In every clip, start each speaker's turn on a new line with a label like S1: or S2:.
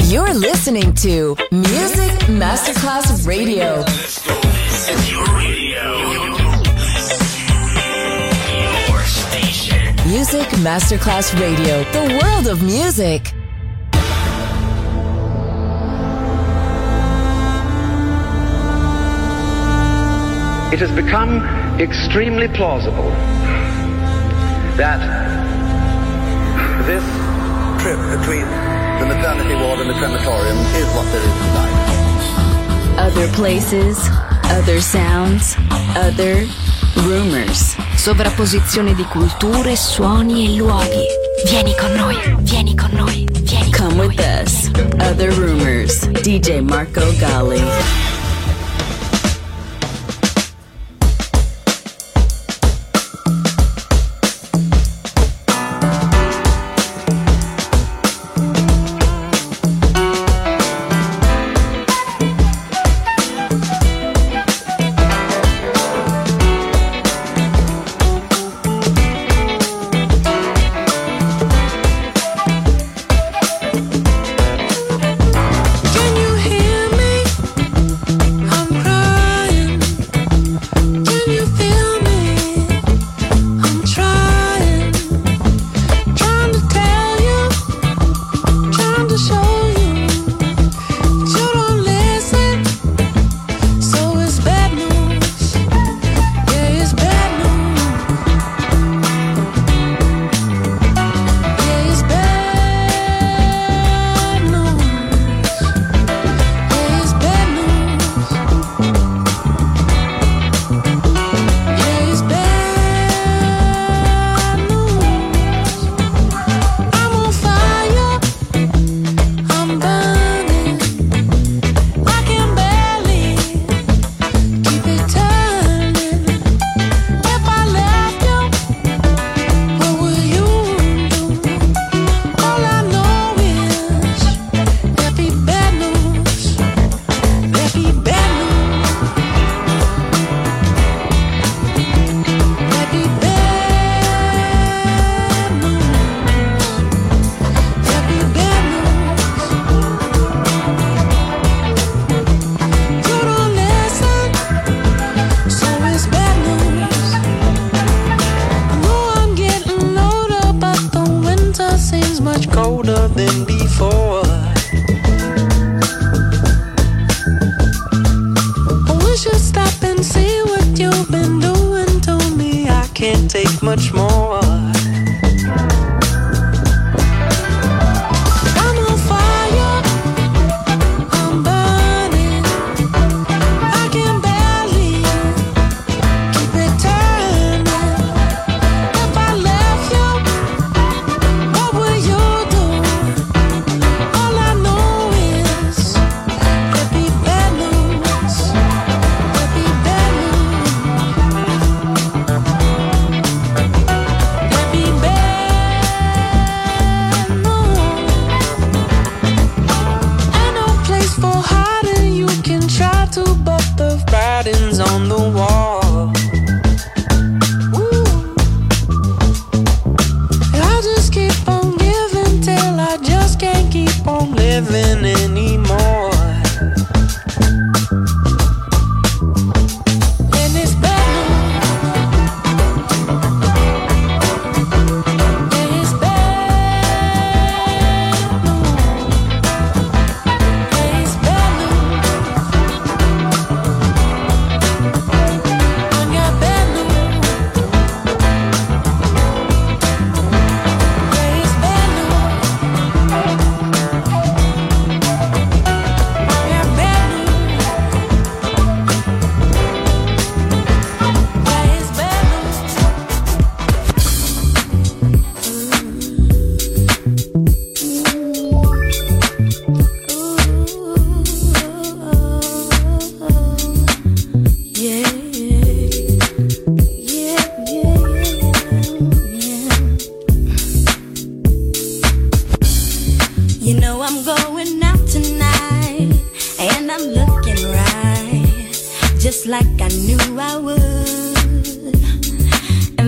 S1: You're listening to Music Masterclass Radio.
S2: It's your radio. Your station.
S1: Music Masterclass Radio. The world of music.
S3: It has become extremely plausible that this trip between the maternity ward and the crematorium is what there is tonight.
S4: Other places, other sounds, other rumors. Sovrapposizione di culture, suoni e luoghi. Vieni con noi, vieni con noi, vieni con noi. Come with us. Other Rumors. DJ Marco Gally.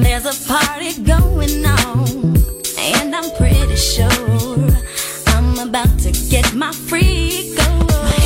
S5: Party going on, and I'm pretty sure I'm
S4: about to get my freak on.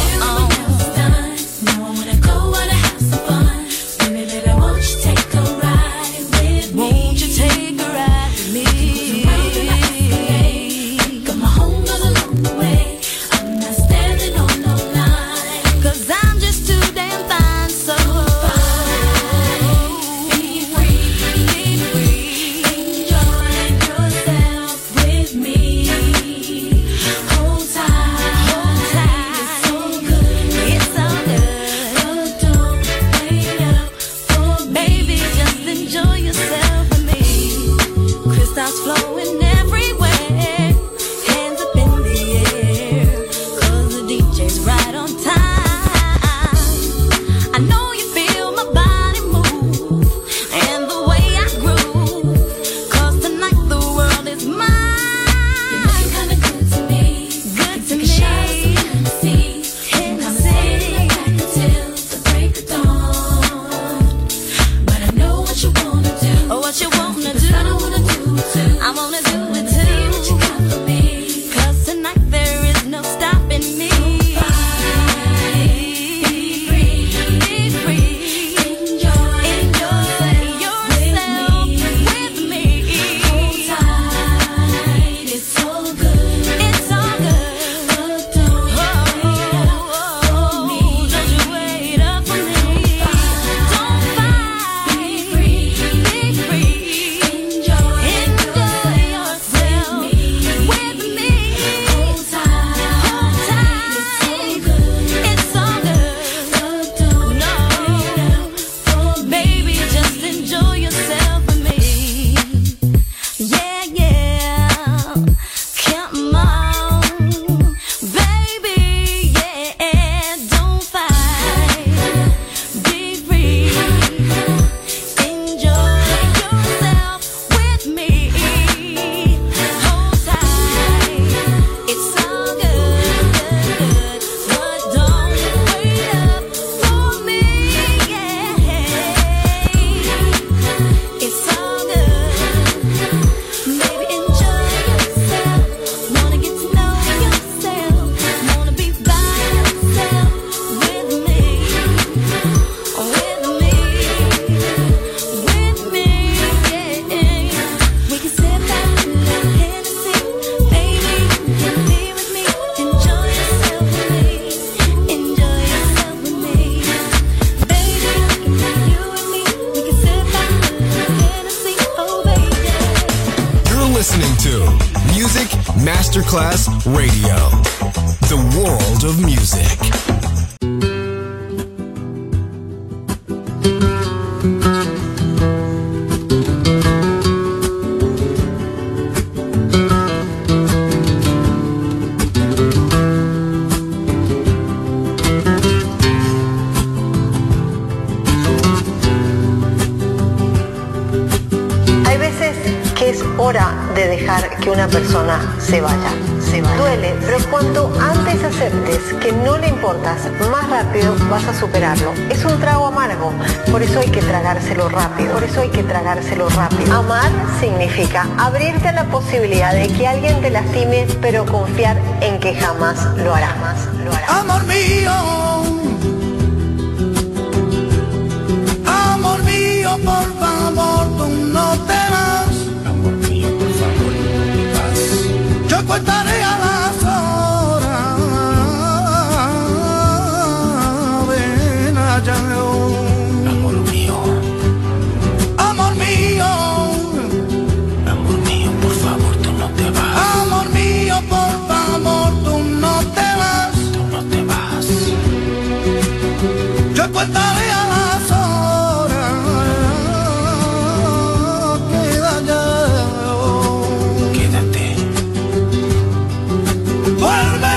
S5: Masterclass Radio, the world of music.
S6: Hay veces que es hora de dejar que una persona se vaya. Duele, pero cuanto antes aceptes que no le importas, más rápido vas a superarlo. Es un trago amargo, por eso hay que tragárselo rápido. Amar significa abrirte a la posibilidad de que alguien te lastime, pero confiar en que jamás lo hará.
S7: Amor mío, por favor, tú no te vas.
S2: Amor mío, por favor, no te vas.
S7: Yo contaré a las horas. Ven allá.
S2: Amor mío.
S7: Amor mío.
S2: Amor mío, por favor, tú no te vas.
S7: Amor mío, por favor, tú no te vas.
S2: Tú no te vas.
S7: Yo contaré a las horas.
S2: Quédate.
S7: Vuelve.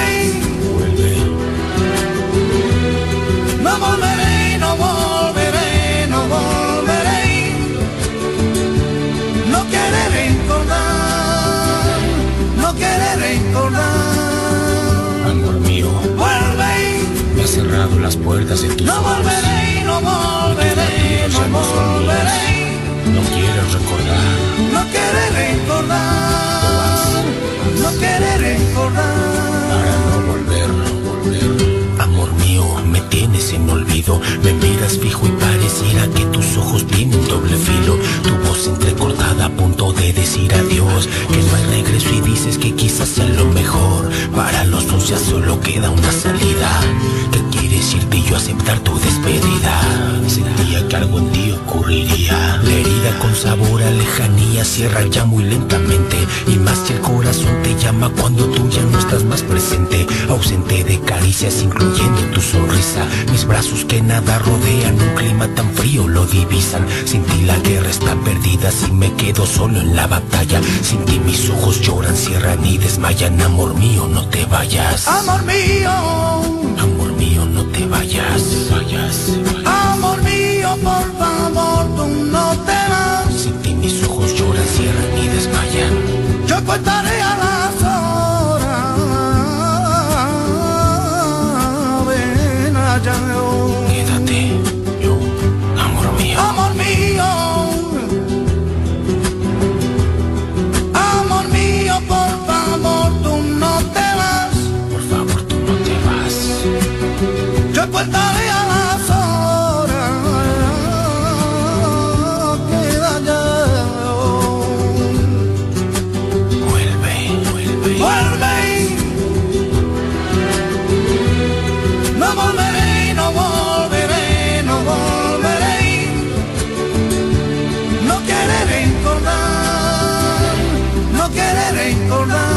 S7: No volveré, no volveré, no volveré. No quiere recordar, no quiere recordar.
S2: Amor mío,
S7: Vuelve.
S2: me has cerrado las puertas de tus
S7: No
S2: ojos.
S7: volveré, no volveré, no volveré.
S2: No quieres recordar.
S7: No quiere recordar, no quiere recordar.
S2: ya solo queda una salida. ¿Qué quieres irte y yo aceptar tu despedida? Sentía que algo en ti ocurriría. La herida con sabor a lejanía cierra ya muy lentamente. Y más si el corazón te llama cuando tú ya no estás más presente. Ausente de caricias incluyendo tu sonrisa. Mis brazos que nada rodean, un clima tan frío lo divisan. Sin ti la guerra está perdida, si me quedo solo en la batalla. Sin ti mis ojos lloran, cierran y desmayan. Amor mío, no te vayas.
S7: Amor mío,
S2: amor mío, no te vayas.
S7: Amor mío, por favor, tú no te vas.
S2: Sin ti mis ojos lloran, cierran y desmayan.
S7: Yo contaré a las horas. Ven allá.
S2: Quédate, yo, amor mío.
S7: Amor mío. Amor mío, por favor, tú no te vas.
S2: Por favor, tú no te vas.
S7: Yo contaré a las horas. Queda ya.
S2: Vuelve, vuelve.
S7: Vuelve. No volveré, no volveré, no volveré. No quiere recordar, no quiere recordar.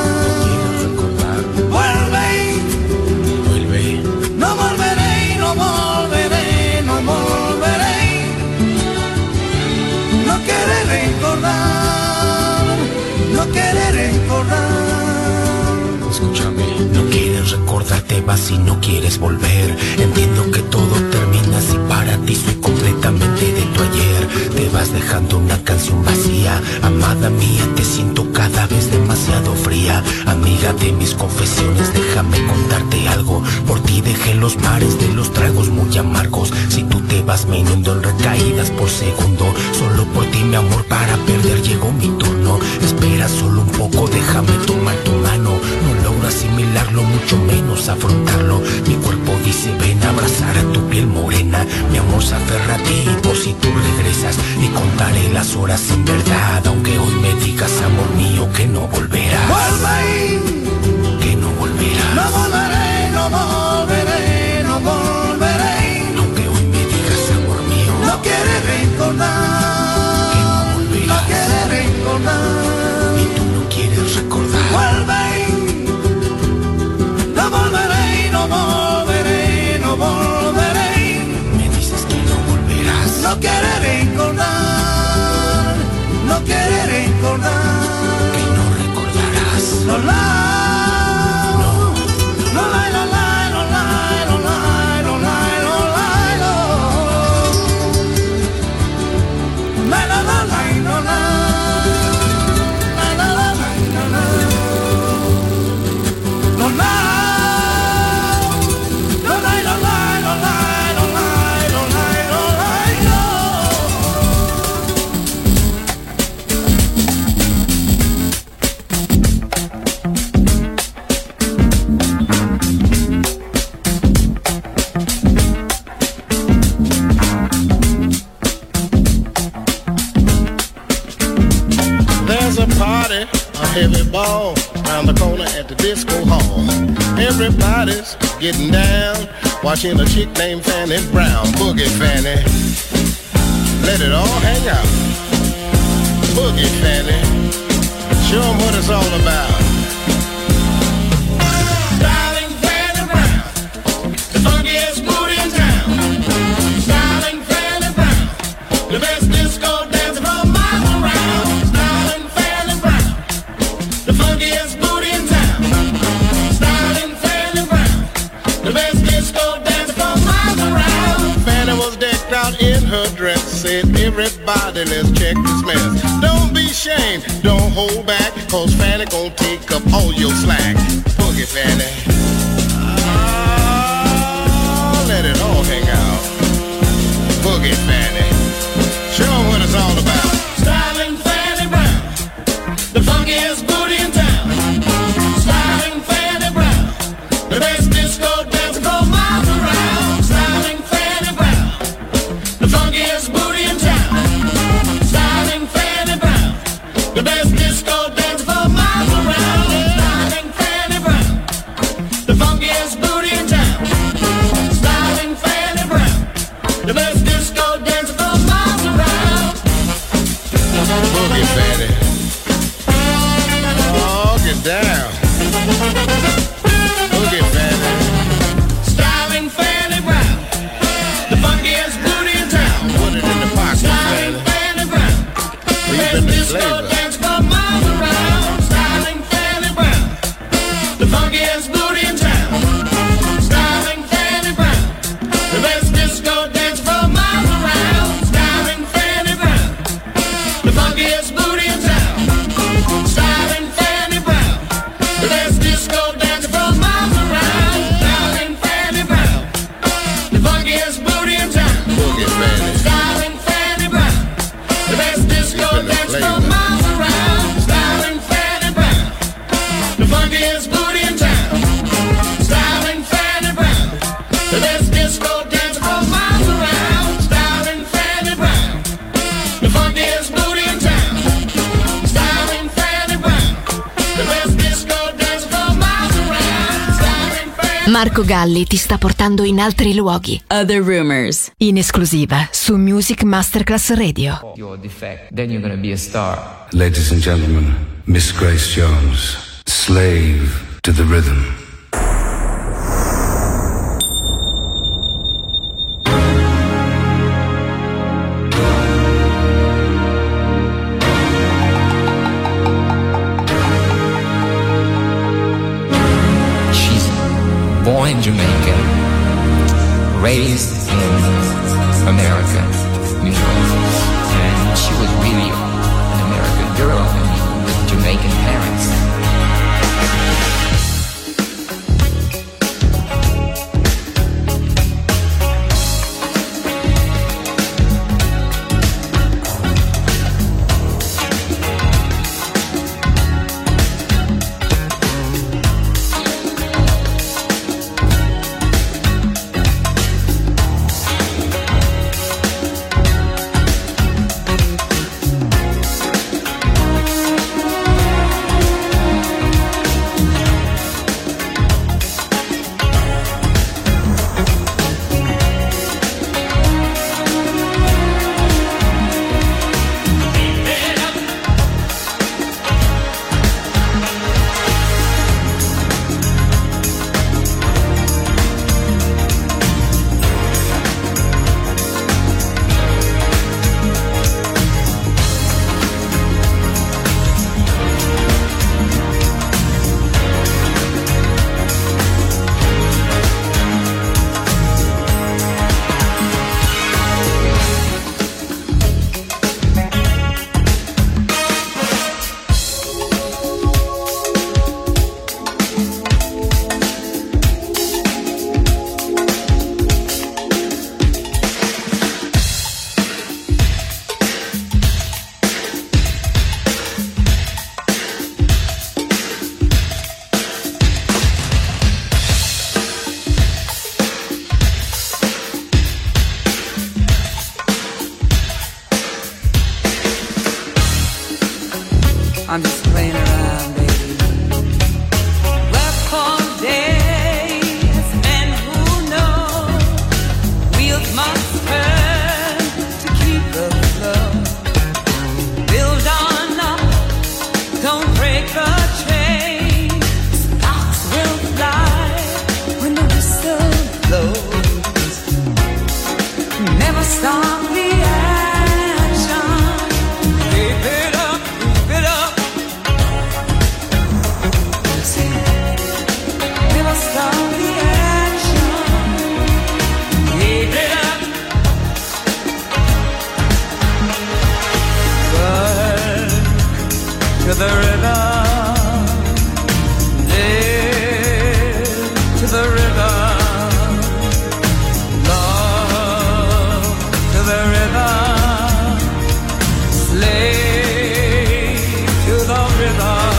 S7: Vuelve.
S2: Vuelve.
S7: No volveré, no volveré, no volveré. No quiere recordar, no quiere recordar.
S2: Escúchame, no quieres recordar, te vas y no quieres volver. Entiendo que todo termina si para ti soy completamente de tu ayer. Te vas dejando una canción vacía. Amada mía, te siento cada vez demasiado fría. Amiga de mis confesiones, déjame contarte algo. Por ti dejé los mares de los tragos muy amargos. Si tú te vas me inundo en recaídas por segundo. Solo por ti mi amor, para perder llegó mi turno. Espera solo un poco, déjame tomar tu mano. No logro asimilarlo, mucho menos afrontarlo. Mi cuerpo dice ven a abrazar a tu piel morena. Mi amor se aferra a ti por si tú regresas. Y contaré las horas en verdad, aunque hoy me digas amor mío que no volverás.
S7: Vuelve.
S2: Que no volverás.
S7: No volveré, no volveré, no volveré.
S2: Aunque hoy me digas amor mío.
S7: No quiere recordar,
S2: que no volverás.
S7: no quiere recordar.
S2: Y tú no quieres recordar.
S7: Vuelve. No volveré, no volveré, no volveré.
S2: Me dices que no volverás.
S7: No quiere recordar, no quiere recordar.
S2: Que no recordarás.
S7: No la, no la, no la, no la, no la, no la, no la, no. La la la la no la. La la la la no la. No la. No la, no la, no la, no la, no la, no la, no.
S8: There's a party, a heavy ball, round the corner at the disco hall. Everybody's getting down, watching a chick named Fanny Brown. Boogie Fanny, let it all hang out. Boogie Fanny, show 'em what it's all about. Styling Fanny Brown, the funkiest booty in town. Styling Fanny Brown, the best disco dancer from miles around. Styling Fanny Brown, the funkiest booty in town. Styling Fanny Brown, the best disco dancer from miles around. Fanny was decked out in her dress, said everybody let's check this mess. Don't be ashamed, don't hold back, cause Fanny gon' take up all your slack. Boogie Fanny, let it all hang out. Boogie Fanny, show 'em what it's all about. Styling Fanny Brown, the funkiest booty in town. Styling Fanny Brown, the best disco dancer from miles around. Styling Fanny Brown, the funkiest booty in town. Styling Fanny Brown, the best disco dancer from miles around. Styling Fanny Brown,
S4: Marco Galli ti sta portando in altri luoghi.
S1: Other Rumors.
S4: In esclusiva su Music Masterclass Radio.
S9: Your defect, then you're gonna be a star.
S10: Ladies and gentlemen, Miss Grace Jones, slave to the rhythm.
S9: Born in Jamaica, raised in America, New York, and she was really an American girl with Jamaican parents.
S7: I'm just playing around, baby. Work for days, and who knows? Wheels must turn to keep the flow. Build on up, don't break the chain. Sparks will fly when the whistle blows. Never stop the action. Keep it up, keep it up. Never stop the action. Keep it up. Work to the rhythm. Live to the rhythm. Love to the rhythm. Slave to the rhythm.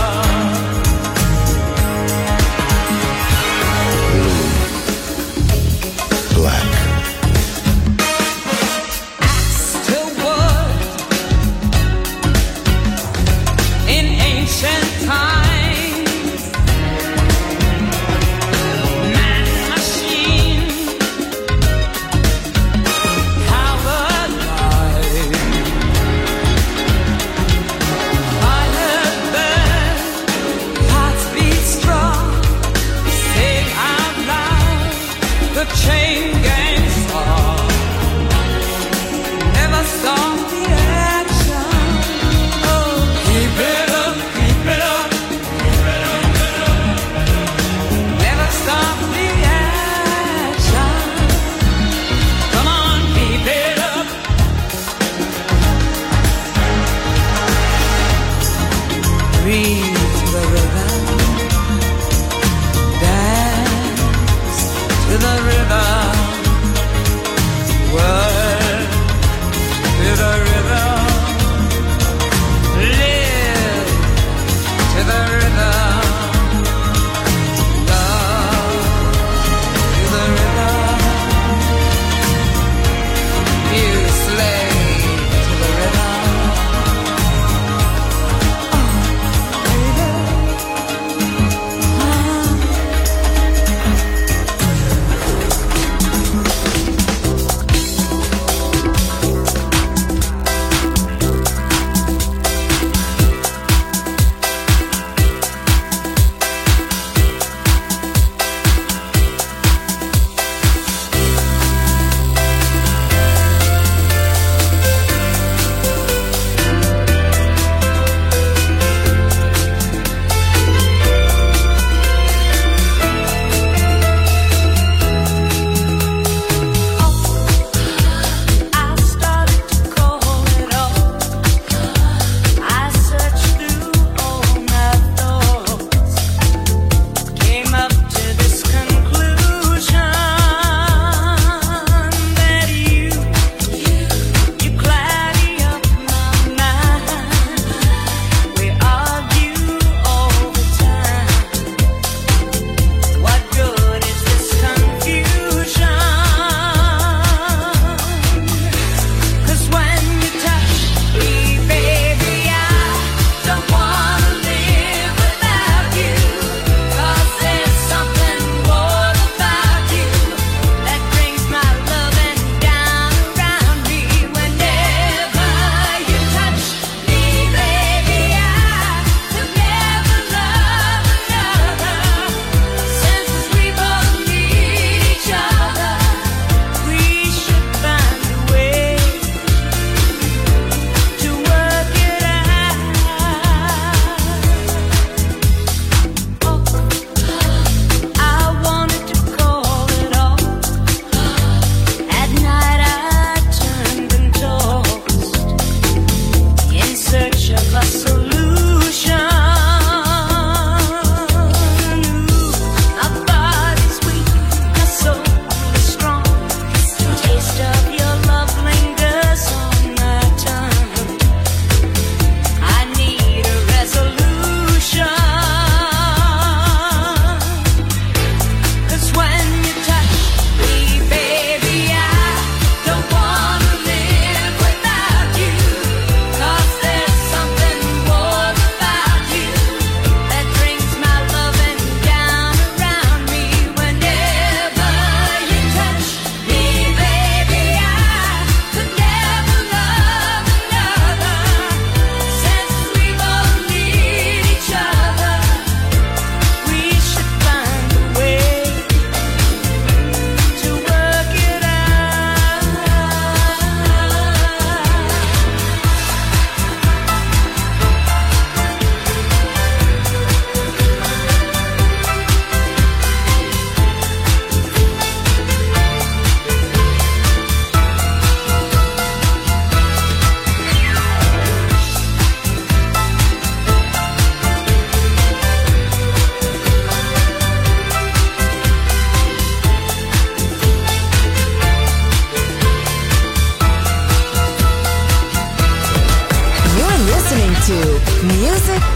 S10: Black.
S7: Axe to wood in ancient times. Man, machine, powered by fire burn, hearts beat strong. Sing out loud the chain gang song. Never stop the action. Oh, keep it up, keep it up. Never stop the action. Come on, keep it up. Breathe to the rhythm. Dance to the rhythm. Work to the rhythm. Live to the rhythm. Love to the rhythm. You slave to the rhythm. Oh, baby.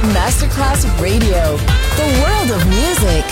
S1: Masterclass Radio. The world of music.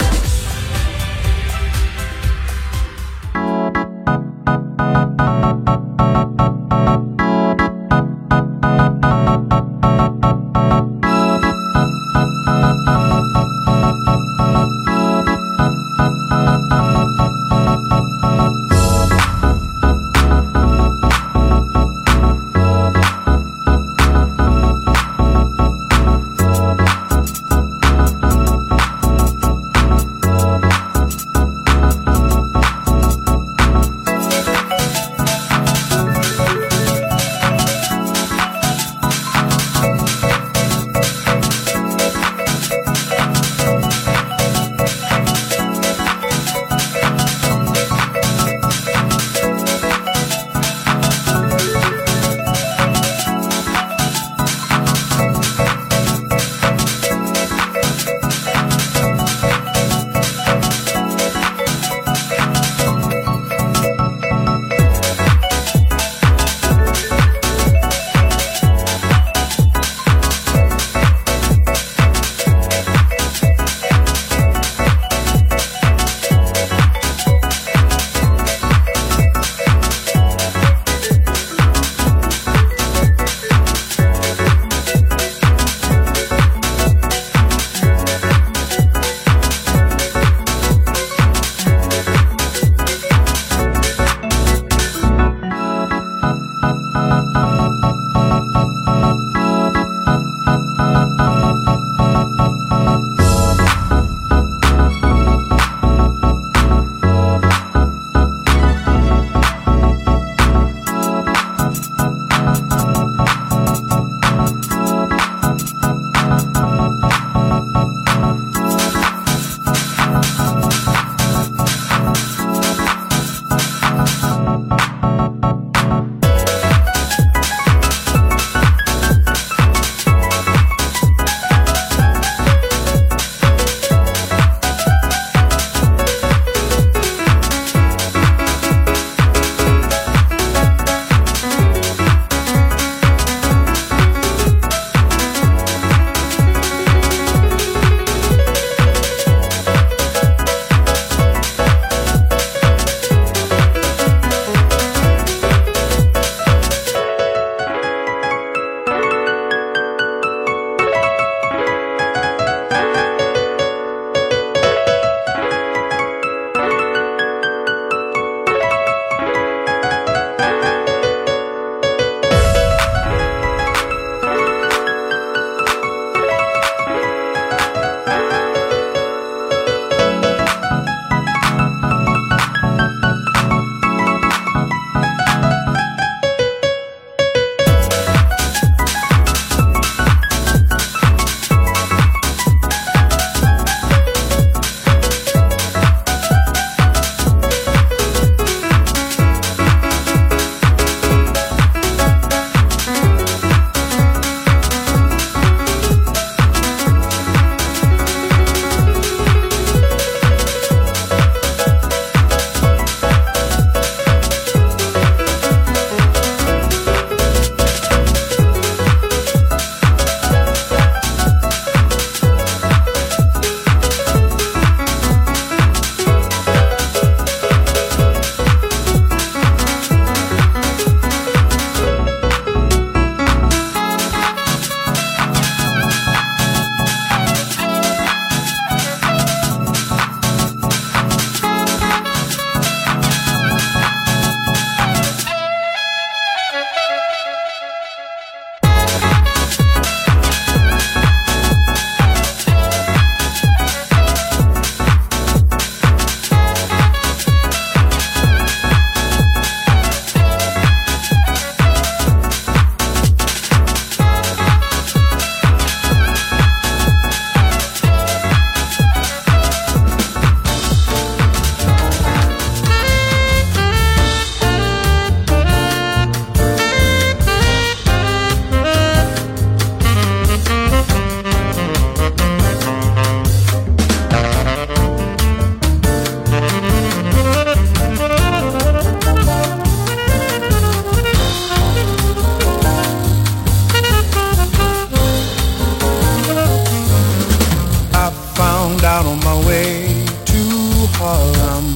S11: Harlem.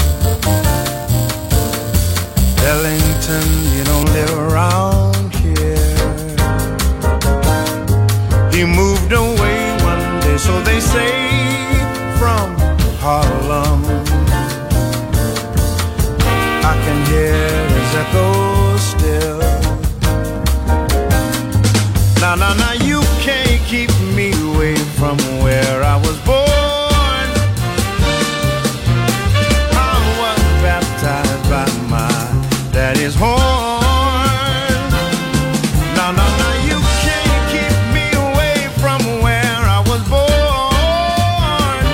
S11: Ellington, you don't live around here. He moved away one day, so they say, from Harlem. I can hear his echo still. Now, you can't keep me away from where I was born. I was baptized by my daddy's horn. Now, you can't keep me away from where I was born.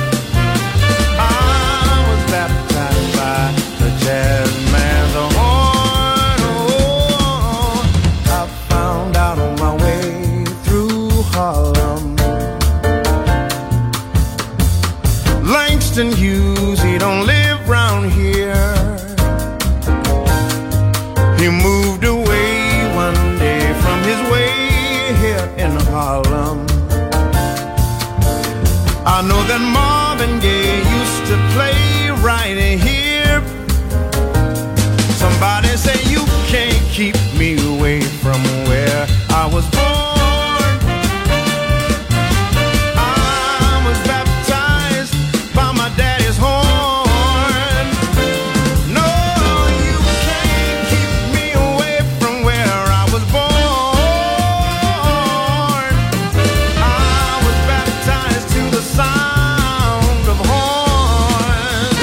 S11: I was baptized by the jazz man's horn. Oh, I found out on my way through Harlem. Langston Hughes, he don't live round here. He moved away one day from his way here in Harlem. I know that Marvin Gaye used to play right here. Somebody say you can't keep me away from where I was born. I was baptized by my daddy's horn. No, you can't keep me away from where I was born. I was baptized to the sound of horns.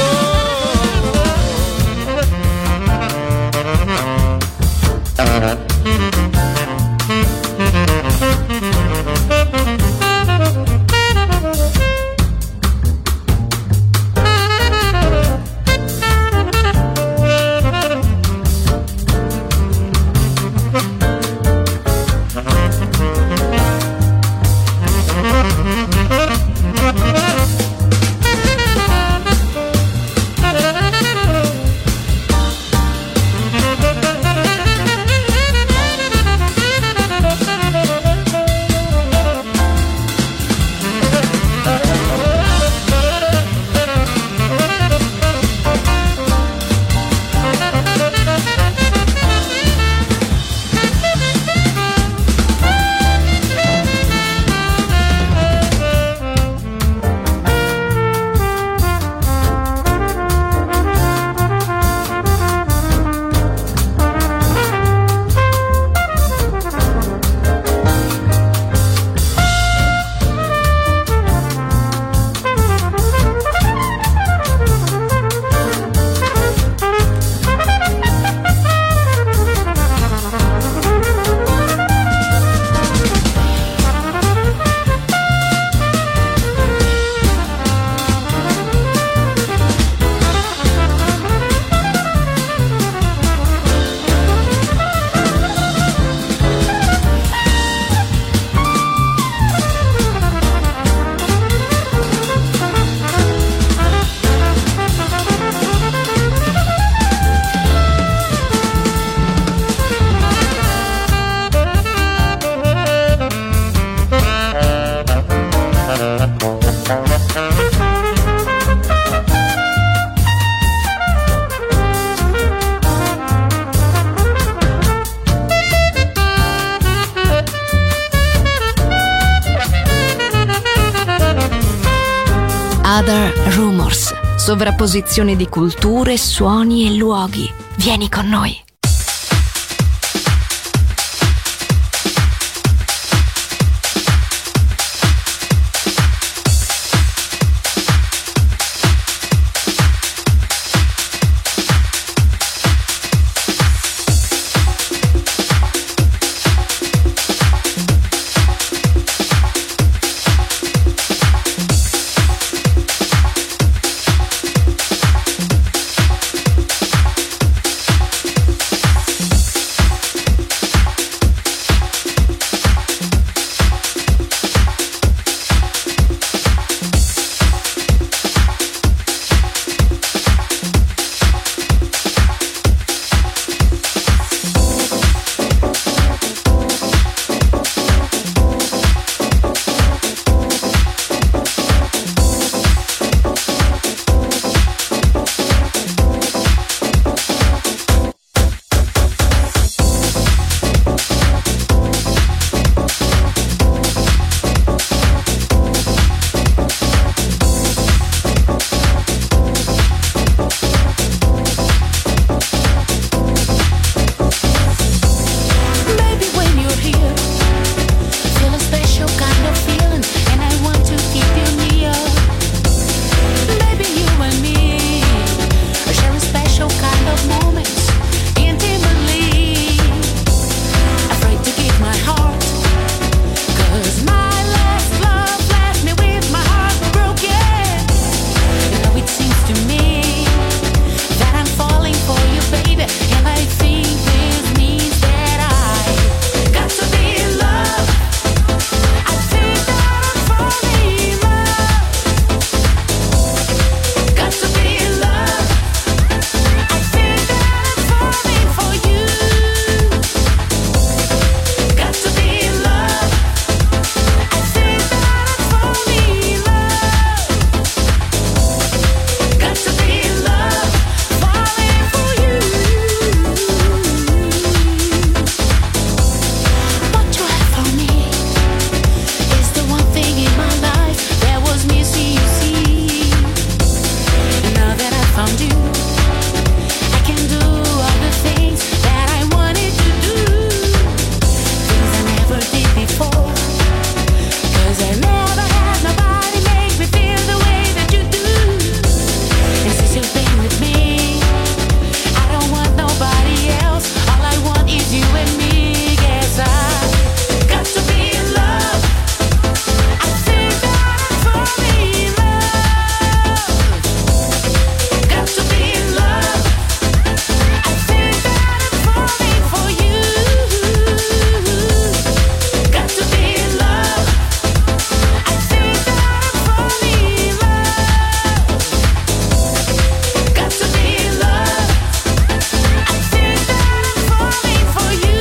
S4: Other Rumors, sovrapposizione di culture, suoni e luoghi. Vieni con noi.
S12: and me share a special kind of moments intimately. Afraid to give my heart, 'cause my last love left me with my heart broken. Now it seems to me that I'm falling for you, baby, and I think this means that I got to be in love. I think that I'm falling in love. Got to be in love. I think that I'm falling for you. Got to be in love. I think that I'm falling in love. Got to be in love, falling for you. What you have for me is the one thing in my life that was missing, you see. Now that I found you, I can do all the things that I wanted to do. Things I never did before, 'cause I never had nobody make me feel the way that you do. And since you've been with me, I don't want nobody else. All I want is you and me. Guess I got to be in love. I think that I'm falling in love. Got to be in love. I think that I'm falling for you. Got to be in love. I think that I'm falling in love. Got to be in love. I think that I'm falling for you.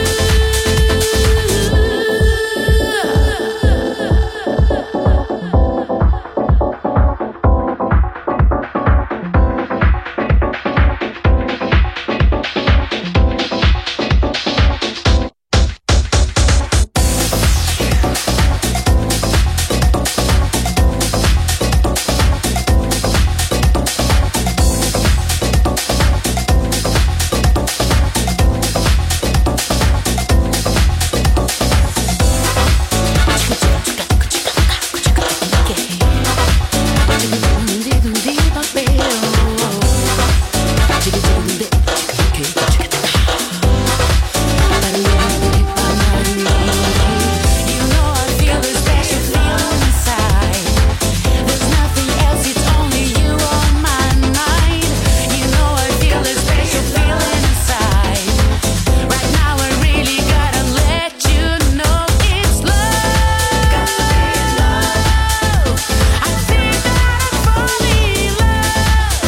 S12: You know I feel a special feeling inside. There's nothing else, it's only you on my mind. You know I feel a special feeling inside. Right now I really gotta let you know it's love. Got to be in love. I think that I'm falling in love.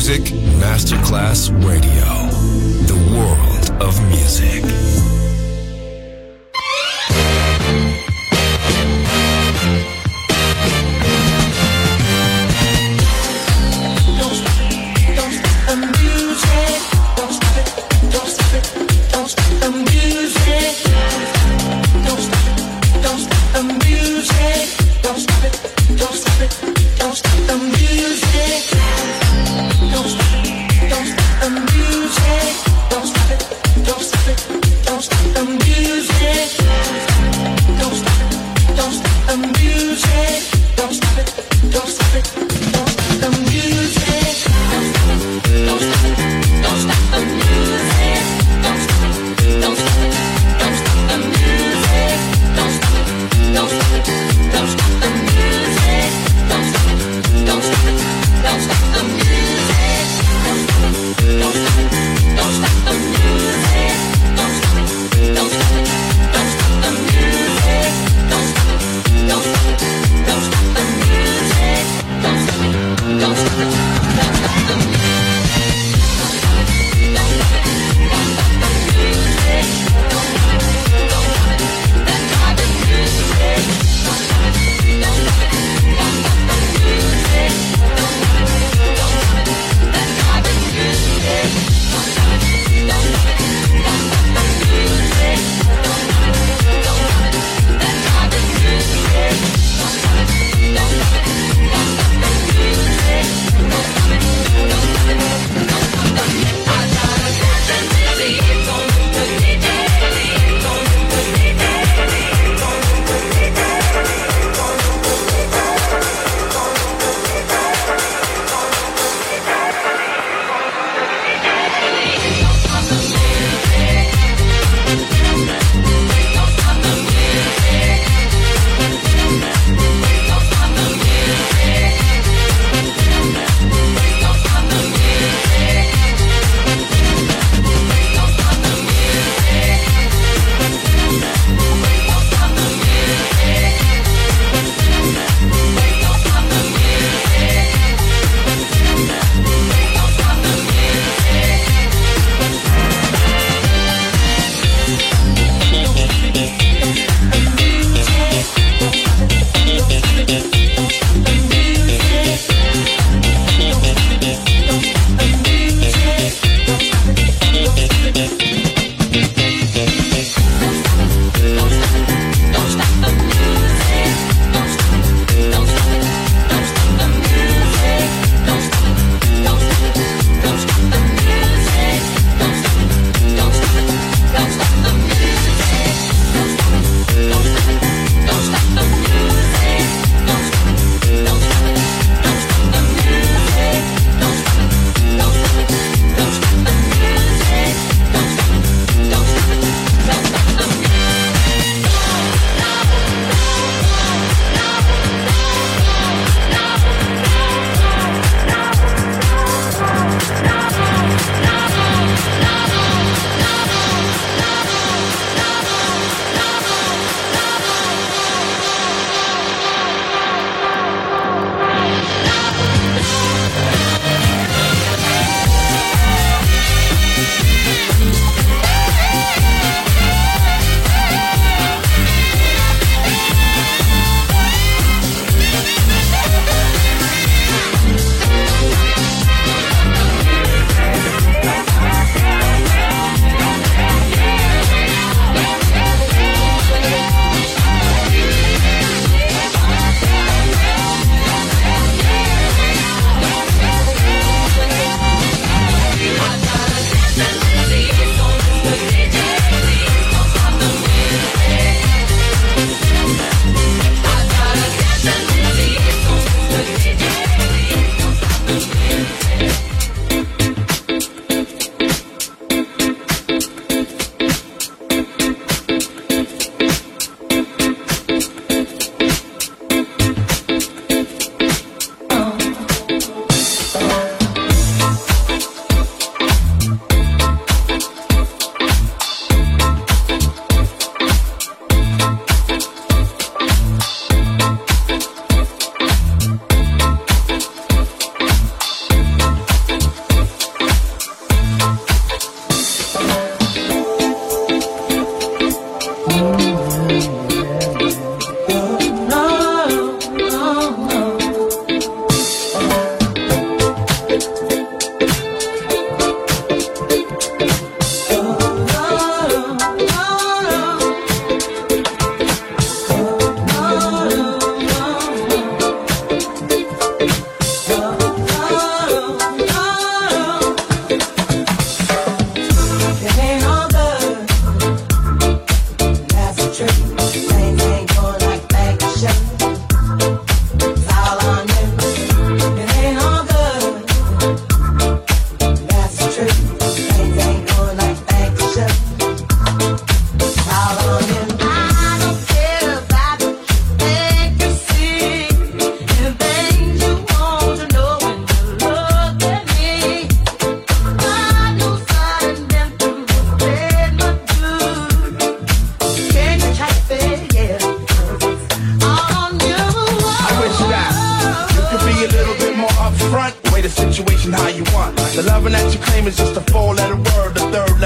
S5: Music Masterclass Radio. The world of music.
S8: Don't stop.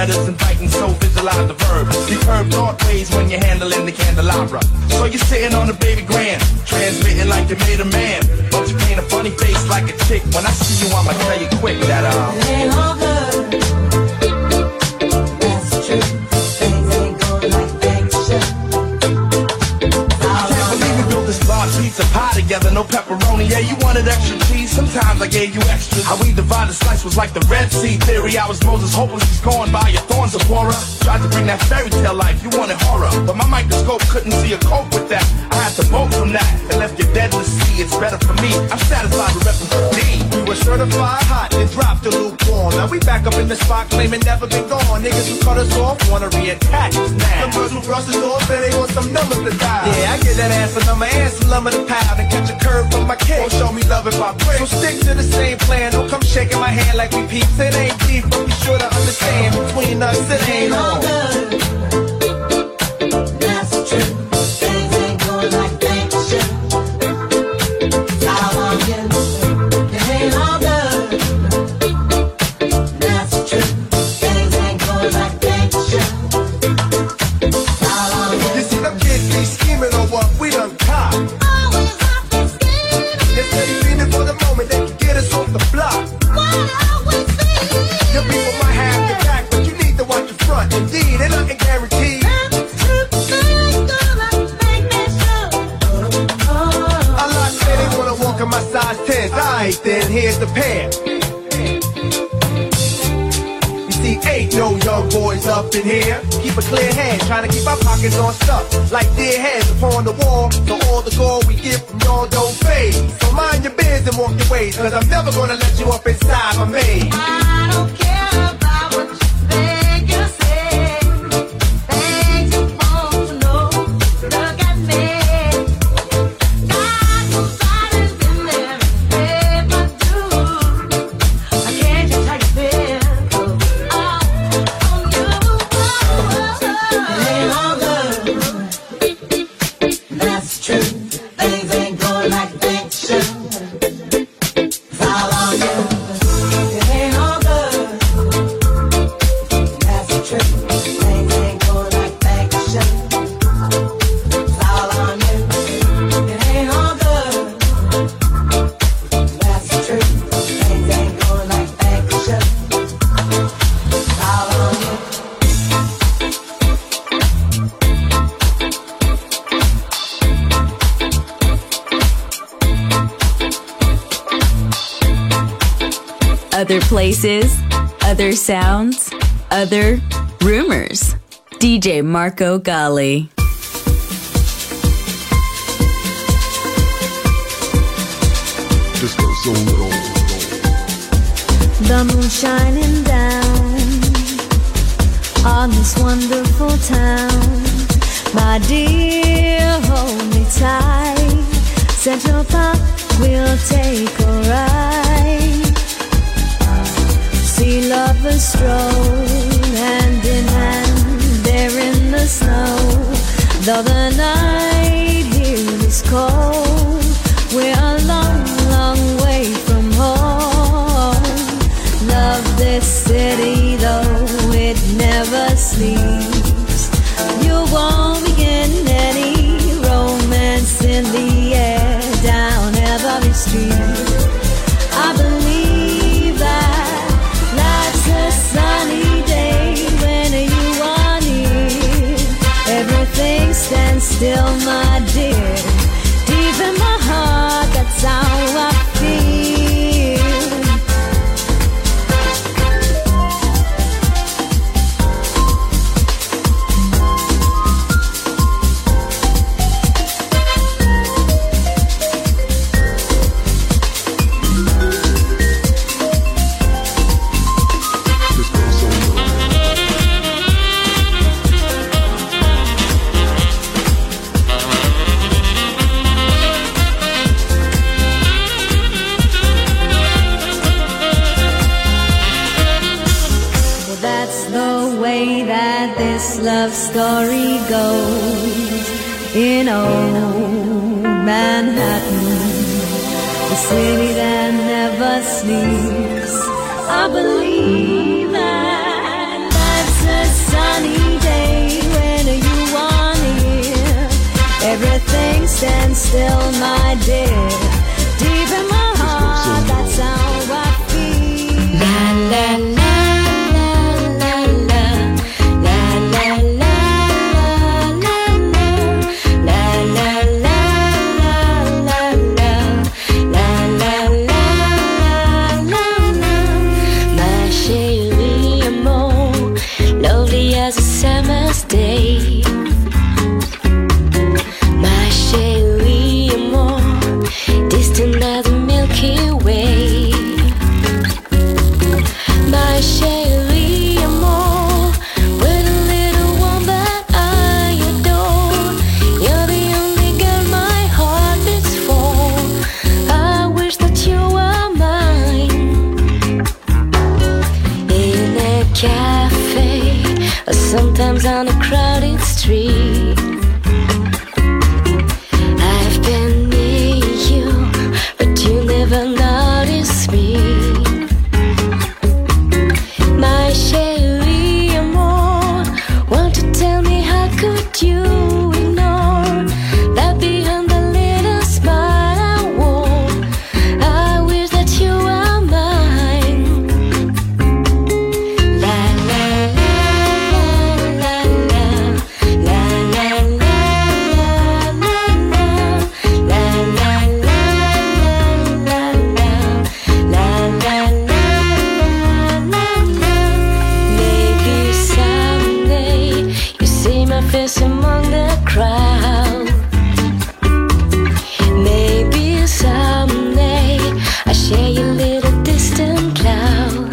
S13: letters inviting, so visualize the verb. Deep curved thought ways when you're handling the candelabra. So you're sitting on a baby grand, transmitting like you made a man. But you paint a funny face like a chick. When I see you, I'ma tell you quick that
S7: it ain't all good. That's true. Things ain't going like things should.
S13: I can't believe we built this large pizza pie together, no pepperoni. Yeah, you wanted extra cheese, sometimes I gave you extra. How we divided slice was like the Red Sea theory. I was Moses, hopeless, he's going by your thorns of horror. Tried to bring that fairy tale life, you wanted horror, but my microscope couldn't see a cope with that. I had to bolt from that and left you dead in the sea. It's better for me, I'm satisfied with repping for D.
S11: We were certified hot and dropped the lukewarm. Now we back up in the spot claiming never been gone. Niggas who cut us off wanna reattach us now. Some girls who brush us off and they want some numbers to dial. Yeah, I get that ass a number and some lumber to pound and catch a curve from my kick. Won't show me love if I break. So stick to the same plan. Don't come shaking my hand like we peeps. It ain't deep, but be sure to understand between us it ain't all good.
S7: That's true. Things ain't going like things should. How long you? It ain't all good. That's true. Things ain't going like things should. How long you?
S11: You see them kids be scheming on what we done caught.
S7: Always have to scheme.
S11: They say feeling for the moment they can get us off the block.
S7: Why always be?
S11: Your people might have the back, but you need to watch your front. Indeed, ain't nothing guaranteed.
S7: That's true. Things gonna make me sure.
S11: A lot say they wanna walk in my size 10s. Alright then, here's the pair. You see, ain't no young boys up in here. Keep a clear head, trying to keep our pockets on stuff. Like dead heads upon the wall. So all the gold we get from y'all don't fade. So mind your biz and walk your ways, cause I'm never gonna let you up inside my maze.
S7: I don't care about what you think you say. Things you want to know. Look at me. Got some silence in there. If I do, I can't just how you feel. On you. It ain't all good. That's true. Things ain't going like things should. All on you. It ain't all good. That's true. Things ain't going like things should. All on you. It ain't all good. That's true. Things ain't going like things should. All on you.
S4: Other places, other sounds, other rumors. DJ Marco Gally.
S11: Disco Soul.
S14: The moon shining down on this wonderful town. My dear, hold me tight. Central Park will take a ride. See lovers stroll hand in hand there in the snow. Though the night here is cold, we're a long, long way from home. Love this city though it never sleeps. You won't be getting any romance in the air down every street. I believe that life's a sunny day when you are near. Everything stands still, my dear. Deep in my heart, that's how I feel. Love story goes in old Manhattan, the city that never sleeps. I believe that life's stand still, my dear. Deep in my heart, that's how I feel. La la la la la la la la la la la la la la. My chérie amour, lovely as a summer's day. My chérie amour, distant as the Milky Way. My chérie amour, with a little one that I adore. You're the only girl my heart beats for. I wish that you were mine. In a cafe, or sometimes on a crowded street, I've been near you, but you never noticed me. My chérie amour, won't you tell me how could you ignore that behind the little smile I wore? I wish that you were mine. La la la la la la la la la la Maybe someday you see my face among the crowd. Maybe someday I share your little distant cloud.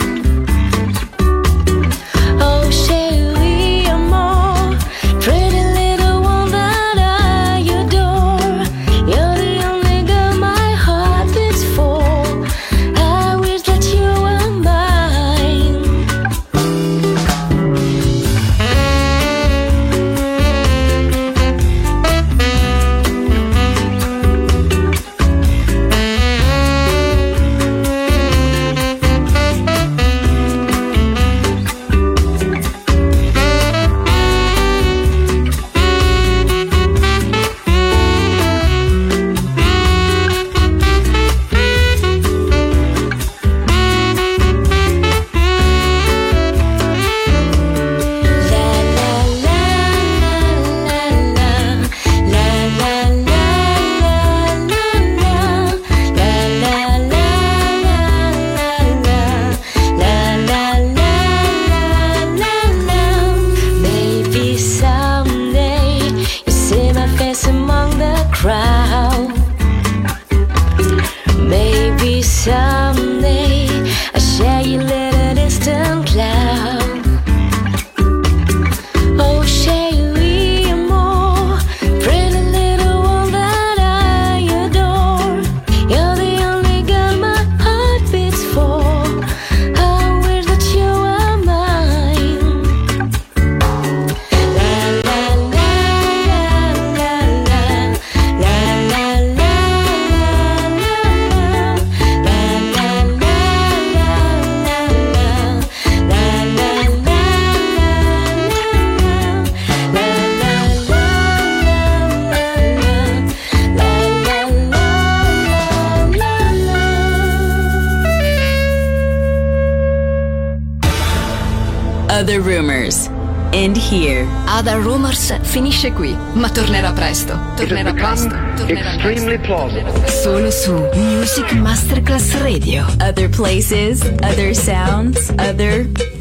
S14: Oh, chérie amour, pretty little one that I adore. You're the only girl my heart beats for. I wish that you were mine. Maybe someday you see my face among the crowd. Maybe someday I share your little distant cloud. Oh, chérie amour, pretty little one that I adore. You're the only girl my heart beats for. I wish that you were mine. La la la la la la la la
S4: Other Rumors. End here. Other Rumors finisce qui, ma tornerà presto. Tornerà presto.
S3: Extremely plausible.
S4: Solo su Music Masterclass Radio. Other places, other sounds, other